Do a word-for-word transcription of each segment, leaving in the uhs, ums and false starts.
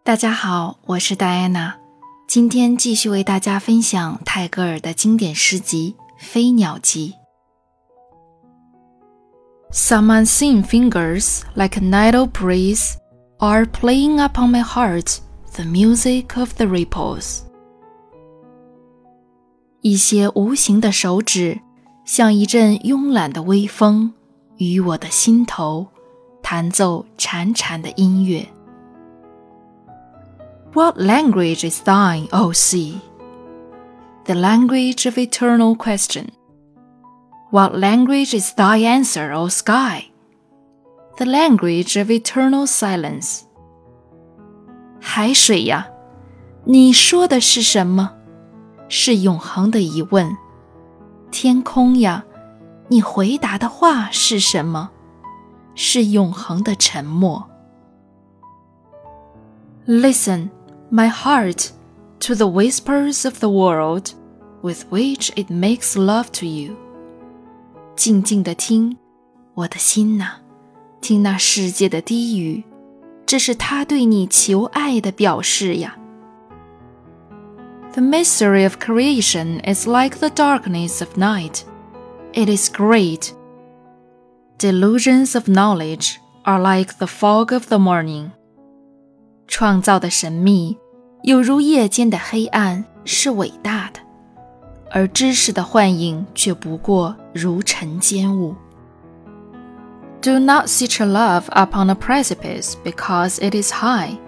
大家好，我是戴安娜，今天继续为大家分享泰戈尔的经典诗集《飞鸟集》。Some unseen fingers, like a needle breeze, are playing upon my heart the music of the ripples. 一些无形的手指，像一阵慵懒的微风，与我的心头弹奏潺潺的音乐。What language is thine, O sea? The language of eternal question. What language is thy answer, O sky? The language of eternal silence. 海水呀，你说的是什么？是永恒的疑问。天空呀，你回答的话是什么？是永恒的沉默。Listen, my heart, to the whispers of the world, with which it makes love to you. 静静地听，我的心哪，听那世界的低语，这是他对你求爱的表示呀。The mystery of creation is like the darkness of night. It is great. Delusions of knowledge are like the fog of the morning. 创造的神秘有如夜间的黑暗，是伟大的，而知识的幻影却不过如晨间雾。Do not set your love upon a precipice because it is high.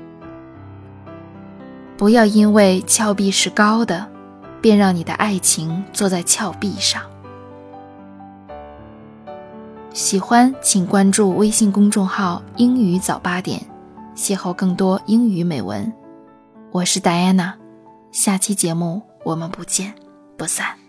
不要因为峭壁是高的，便让你的爱情坐在峭壁上。喜欢请关注微信公众号英语早八点，邂逅更多英语美文。我是戴安娜，下期节目我们不见不散。